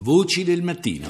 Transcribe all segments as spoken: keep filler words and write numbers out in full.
Voci del mattino.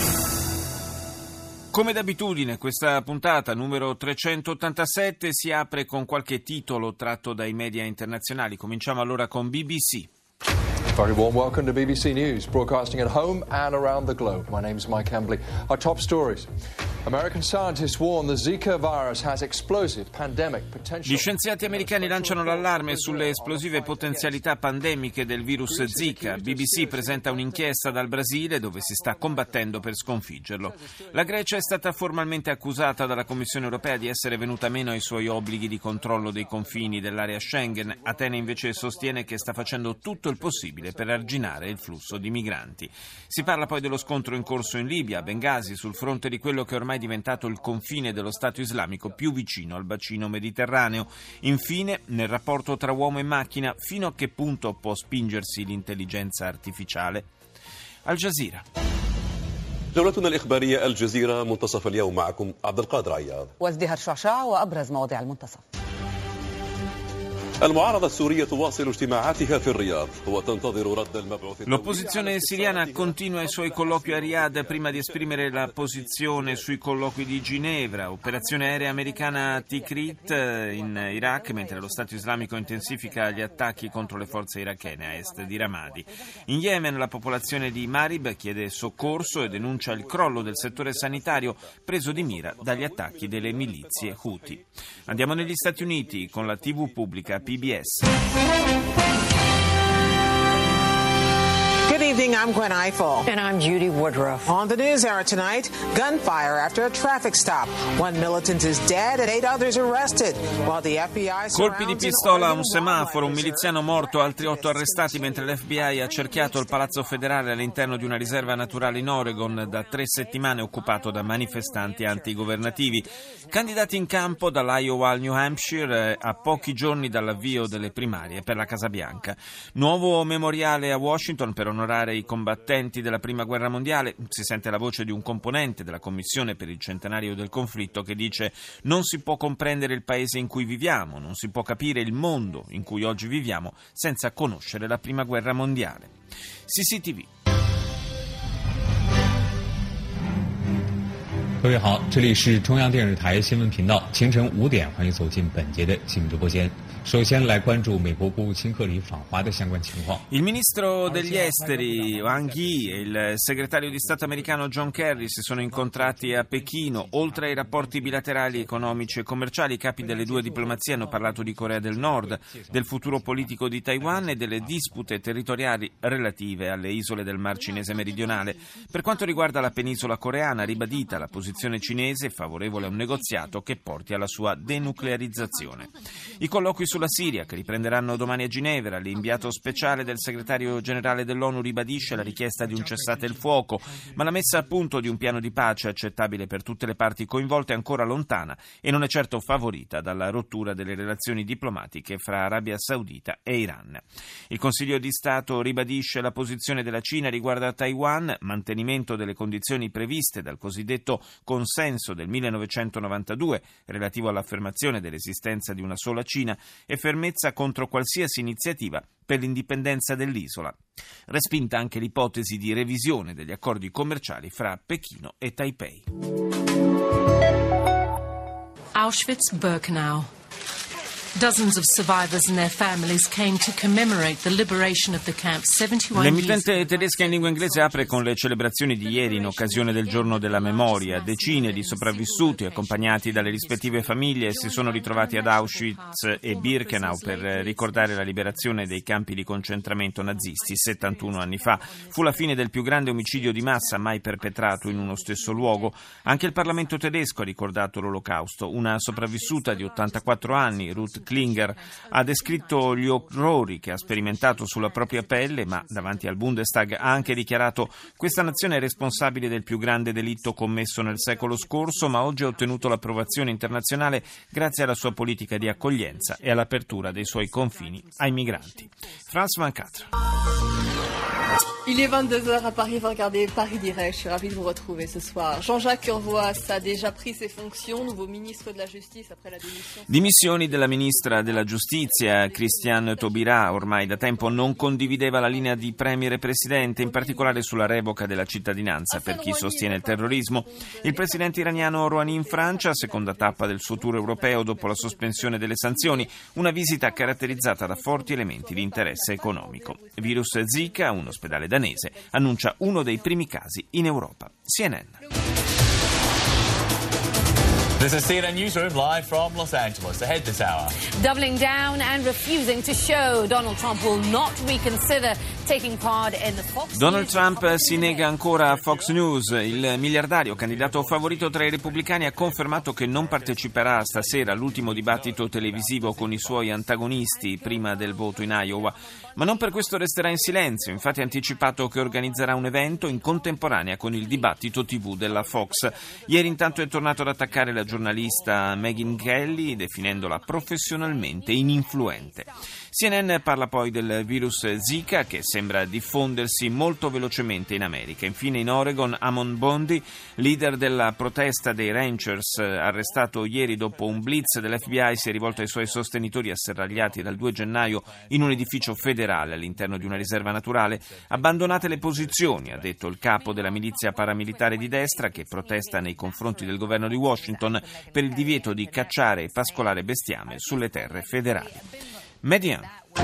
Come d'abitudine, questa puntata numero trecentottantasette si apre con qualche titolo tratto dai media internazionali. Cominciamo allora con B B C. Very warm welcome to B B C News, broadcasting at home and around the globe. My name is Mike Embley. Our top stories. American scientists warn the Zika virus has explosive pandemic potential. Gli scienziati americani lanciano l'allarme sulle esplosive potenzialità pandemiche del virus Zika. B B C presenta un'inchiesta dal Brasile dove si sta combattendo per sconfiggerlo. La Grecia è stata formalmente accusata dalla Commissione europea di essere venuta meno ai suoi obblighi di controllo dei confini dell'area Schengen. Atene invece sostiene che sta facendo tutto il possibile per arginare il flusso di migranti. Si parla poi dello scontro in corso in Libia, a Bengasi, sul fronte di quello che ormai è diventato il confine dello Stato islamico più vicino al bacino mediterraneo. Infine, nel rapporto tra uomo e macchina, fino a che punto può spingersi l'intelligenza artificiale? Al Jazeera. جولتنا الإخبارية الجزيرة منتصف اليوم معكم عبد القادر عياض وازدهر شعشاع وأبرز مواضيع المنتصف. المعارضة السورية تواصل اجتماعاتها في الرياض وتنتظر رد المبعوث. L'opposizione siriana continua i suoi colloqui a Riyadh prima di esprimere la posizione sui colloqui di Ginevra. Operazione aerea americana Tikrit in Iraq, mentre lo Stato islamico intensifica gli attacchi contro le forze irachene a est di Ramadi. In Yemen la popolazione di Marib chiede soccorso e denuncia il crollo del settore sanitario preso di mira dagli attacchi delle milizie Houthi. Andiamo negli Stati Uniti con la tivù pubblica P B S. Good evening, I'm Gwen Ifill. And I'm Judy Woodruff. On the news hour tonight, gunfire after a traffic stop. One militant is dead and eight others arrested, while the F B I Colpi di surrounds pistola a an un semaforo, un miliziano morto, altri otto arrestati mentre l'F B I ha cerchiato il Palazzo Federale all'interno di una riserva naturale in Oregon da tre settimane occupato da manifestanti antigovernativi. Candidati in campo dall'Iowa al New Hampshire a pochi giorni dall'avvio delle primarie per la Casa Bianca. Nuovo memoriale a Washington per onorare i combattenti della Prima Guerra Mondiale. Si sente la voce di un componente della Commissione per il centenario del conflitto che dice: non si può comprendere il paese in cui viviamo, non si può capire il mondo in cui oggi viviamo senza conoscere la Prima Guerra Mondiale. C C T V. 各位好，这里是中央电视台新闻频道，清晨五点，欢迎走进本节的新闻直播间。首先来关注美国国务卿克里访华的相关情况。 Il ministro degli esteri Wang Yi e il segretario di Stato americano John Kerry si sono incontrati a Pechino. Oltre ai rapporti bilaterali, economici e commerciali, i capi delle due diplomazie hanno parlato di Corea del Nord, del futuro politico di Taiwan e delle dispute territoriali relative alle isole del Mar Cinese meridionale. Per quanto riguarda la penisola coreana, ribadita la posizione cinese favorevole a un negoziato che porti alla sua denuclearizzazione. I colloqui sulla Siria, che riprenderanno domani a Ginevra. L'inviato speciale del segretario generale dell'ONU ribadisce la richiesta di un cessate il fuoco, ma la messa a punto di un piano di pace accettabile per tutte le parti coinvolte è ancora lontana e non è certo favorita dalla rottura delle relazioni diplomatiche fra Arabia Saudita e Iran. Il Consiglio di Stato ribadisce la posizione della Cina riguardo a Taiwan, mantenimento delle condizioni previste dal cosiddetto consenso del millenovecentonovantadue relativo all'affermazione dell'esistenza di una sola Cina e fermezza contro qualsiasi iniziativa per l'indipendenza dell'isola. Respinta anche l'ipotesi di revisione degli accordi commerciali fra Pechino e Taipei. Auschwitz-Birkenau. Dozens of survivors and their families came to commemorate the liberation of the camp seventy-one years ago. L'emittente tedesca in lingua inglese apre con le celebrazioni di ieri in occasione del Giorno della Memoria. Decine di sopravvissuti, accompagnati dalle rispettive famiglie, si sono ritrovati ad Auschwitz e Birkenau per ricordare la liberazione dei campi di concentramento nazisti settantuno anni fa. Fu la fine del più grande omicidio di massa mai perpetrato in uno stesso luogo. Anche il Parlamento tedesco ha ricordato l'Olocausto. Una sopravvissuta di ottantaquattro anni, Ruth Klinger, ha descritto gli orrori che ha sperimentato sulla propria pelle, ma davanti al Bundestag ha anche dichiarato: questa nazione è responsabile del più grande delitto commesso nel secolo scorso, ma oggi ha ottenuto l'approvazione internazionale grazie alla sua politica di accoglienza e all'apertura dei suoi confini ai migranti. France ventiquattro. Il est vingt-deux heures à Paris, vous regardez Paris Direct, je suis ravie de vous retrouver ce soir. Jean-Jacques Urvoas a déjà pris ses fonctions, nouveau ministre de la Justice après la démission. Dimissioni della ministra ministra della giustizia Christiane Taubira ormai da tempo non condivideva la linea di premier e presidente, in particolare sulla revoca della cittadinanza per chi sostiene il terrorismo. Il presidente iraniano Rouhani in Francia, seconda tappa del suo tour europeo dopo la sospensione delle sanzioni, una visita caratterizzata da forti elementi di interesse economico. Virus Zika, un ospedale danese, annuncia uno dei primi casi in Europa. C N N. This is C N N Newsroom live from Los Angeles. Ahead this hour. Doubling down and refusing to show, Donald Trump will not reconsider taking part in the Fox Donald Trump si nega ancora a Fox News. Il miliardario, candidato favorito tra i repubblicani, ha confermato che non parteciperà stasera all'ultimo dibattito televisivo con i suoi antagonisti prima del voto in Iowa. Ma non per questo resterà in silenzio. Infatti ha anticipato che organizzerà un evento in contemporanea con il dibattito tivù della Fox. Ieri intanto è tornato ad attaccare la giornalista Megyn Kelly, definendola professionalmente ininfluente. C N N parla poi del virus Zika, che sembra diffondersi molto velocemente in America. Infine in Oregon Amon Bondi, leader della protesta dei ranchers, arrestato ieri dopo un blitz dell'F B I, si è rivolto ai suoi sostenitori asserragliati dal due gennaio in un edificio federale all'interno di una riserva naturale. Abbandonate le posizioni, ha detto il capo della milizia paramilitare di destra che protesta nei confronti del governo di Washington per il divieto di cacciare e pascolare bestiame sulle terre federali. Median.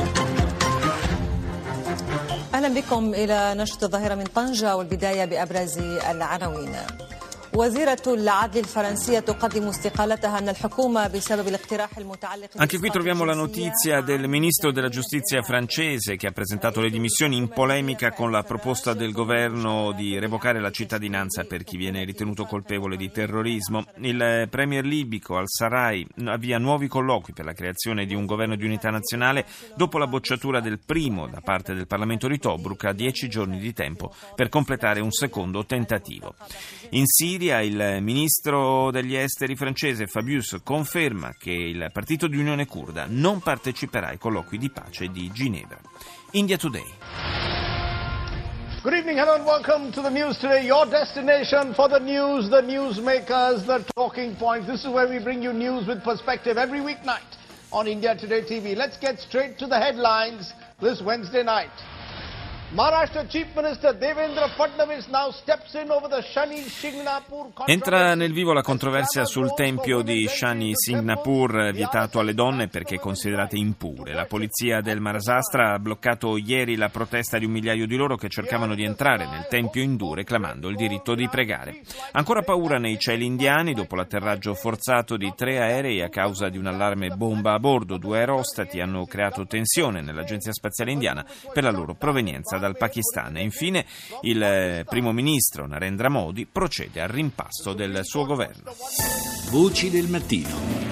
أهلا بكم إلى نشرة الظاهرة من طنجة والبداية بأبرز العناوين. وزيرة العدل الفرنسية تقدم استقالتها أن الحكومة بسبب الاقتراح المتعلق. Anche qui troviamo la notizia del ministro della giustizia francese che ha presentato le dimissioni in polemica con la proposta del governo di revocare la cittadinanza per chi viene ritenuto colpevole di terrorismo. Il premier libico al-Sarraj avvia nuovi colloqui per la creazione di un governo di unità nazionale dopo la bocciatura del primo da parte del Parlamento di Tobruk, a dieci giorni di tempo per completare un secondo tentativo. In Siria il ministro degli esteri francese Fabius conferma che il partito di Unione Curda non parteciperà ai colloqui di pace di Ginevra. India Today. Good evening, hello and welcome to the news today, your destination for the news, the newsmakers, the talking points. This is where we bring you news with perspective every weeknight on India Today T V. Let's get straight to the headlines this Wednesday night. Maharashtra Chief Minister Devendra Fadnavis now steps in over the Shani Shingnapur. Entra nel vivo la controversia sul tempio di Shani Shingnapur, vietato alle donne perché considerate impure. La polizia del Maharashtra ha bloccato ieri la protesta di un migliaio di loro che cercavano di entrare nel tempio indù reclamando il diritto di pregare. Ancora paura nei cieli indiani dopo l'atterraggio forzato di tre aerei a causa di un allarme bomba a bordo. Due aerostati hanno creato tensione nell'agenzia spaziale indiana per la loro provenienza dal Pakistan. E infine il primo ministro Narendra Modi procede al rimpasto del suo governo. Voci del mattino.